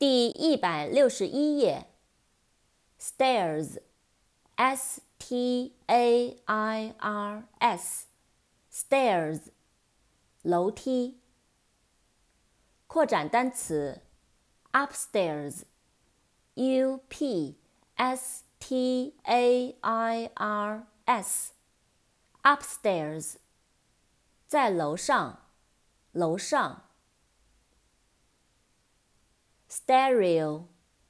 第161页 stairs S-T-A-I-R-S stairs 楼梯。扩展单词 upstairs U-P-S-T-A-I-R-S upstairs 在楼上，楼上。stereo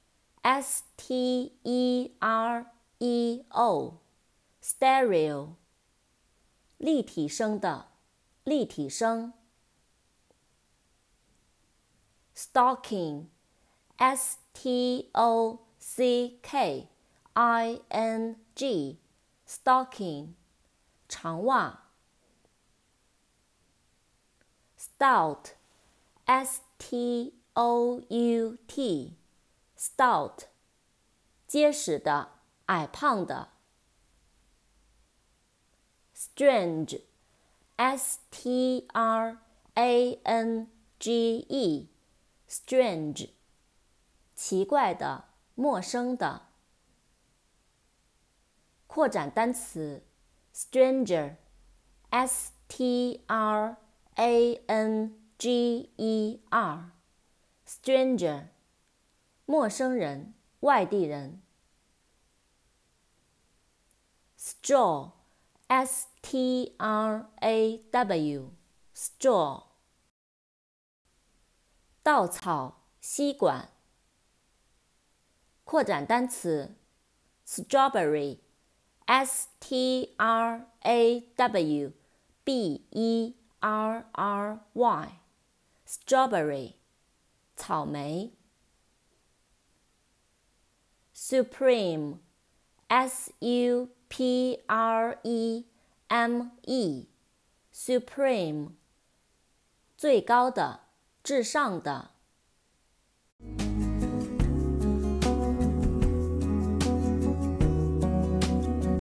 S-T-E-R-E-O stereo 立体声的，立体声。stocking S-T-O-C-K-I-N-G stocking 长袜。stout S-T-O-U-T stout 结实的，矮胖的。strange S-T-R-A-N-G-E strange 奇怪的，陌生的。扩展单词 stranger S-T-R-A-N-G-E-R stranger 陌生人，外地人。straw S-T-R-A-W straw 稻草，吸管。扩展单词 strawberry S-T-R-A-W-B-E-R-R-Y strawberry 草莓。supreme S-U-P-R-E-M-E supreme 最高的，至上的。